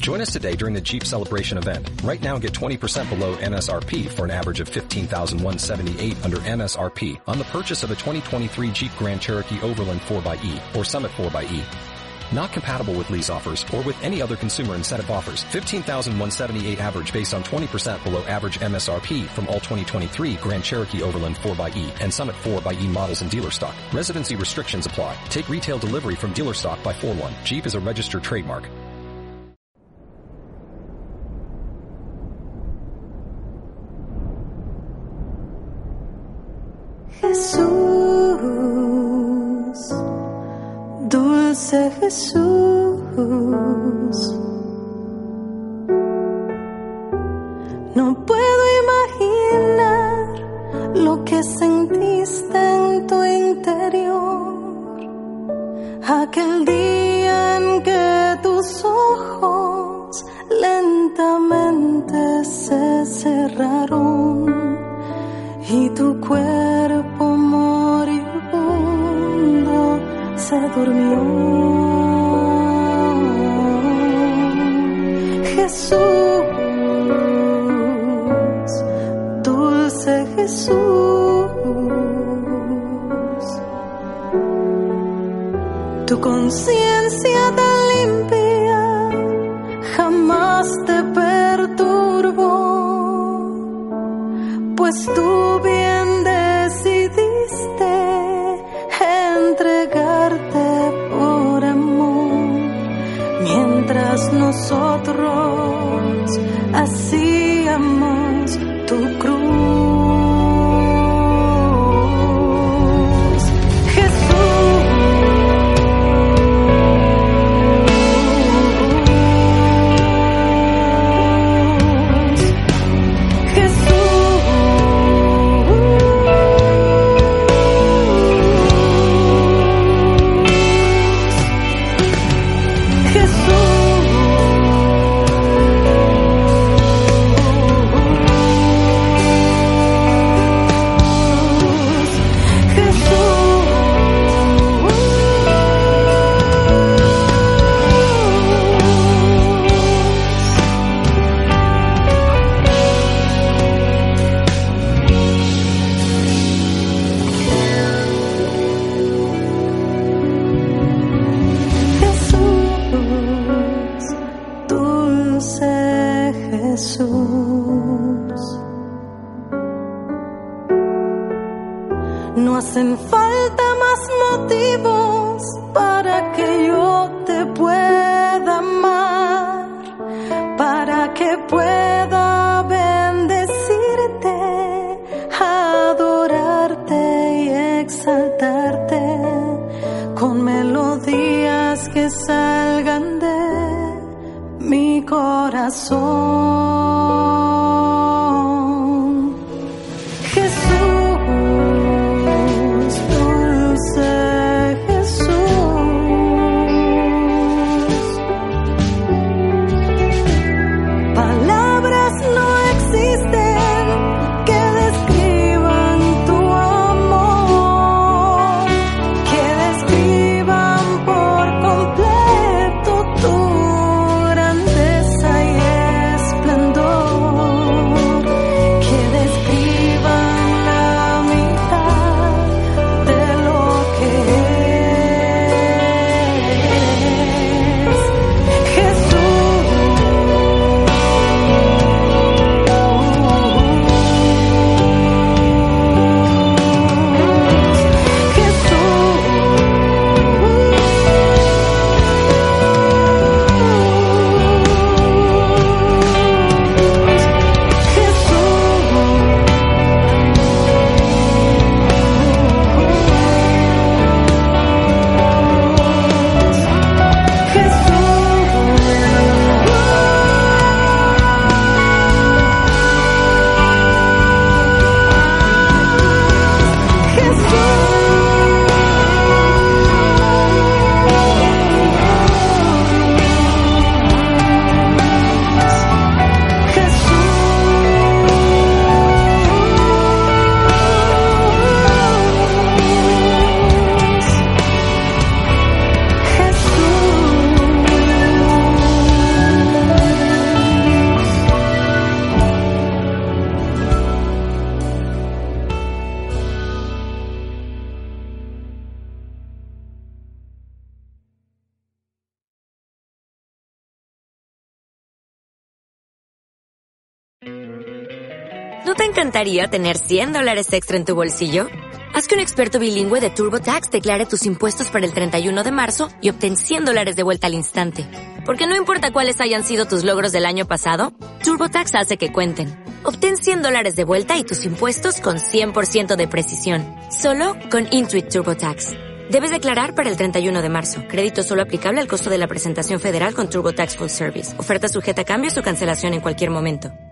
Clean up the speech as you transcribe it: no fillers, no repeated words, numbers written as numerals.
Join us today during the Jeep Celebration event. Right now, get 20% below MSRP for an average of $15,178 under MSRP on the purchase of a 2023 Jeep Grand Cherokee Overland 4xE or Summit 4xE. Not compatible with lease offers or with any other consumer incentive offers. $15,178 average based on 20% below average MSRP from all 2023 Grand Cherokee Overland 4xE and Summit 4xE models in dealer stock. Residency restrictions apply. Take retail delivery from dealer stock by 4/1. Jeep is a registered trademark. Jesús, dulce Jesús, no puedo imaginar lo que sentiste en tu interior aquel día en que tus ojos lentamente se cerraron y tu cuerpo moribundo se durmió. Jesús, dulce Jesús, tu conciencia tan limpia jamás te perturbó, pues tú bien decidiste entregarte por amor, mientras nosotros hacíamos tu cruz. No hacen falta más motivos para que yo te pueda amar, para que pueda bendecirte, adorarte y exaltarte con melodías que salgan de mi corazón. Grandeza y esplendor. ¿No te encantaría tener $100 extra en tu bolsillo? Haz que un experto bilingüe de TurboTax declare tus impuestos para el 31 de marzo y obtén $100 de vuelta al instante. Porque no importa cuáles hayan sido tus logros del año pasado, TurboTax hace que cuenten. Obtén $100 de vuelta y tus impuestos con 100% de precisión. Solo con Intuit TurboTax. Debes declarar para el 31 de marzo. Crédito solo aplicable al costo de la presentación federal con TurboTax Full Service. Oferta sujeta a cambios o cancelación en cualquier momento.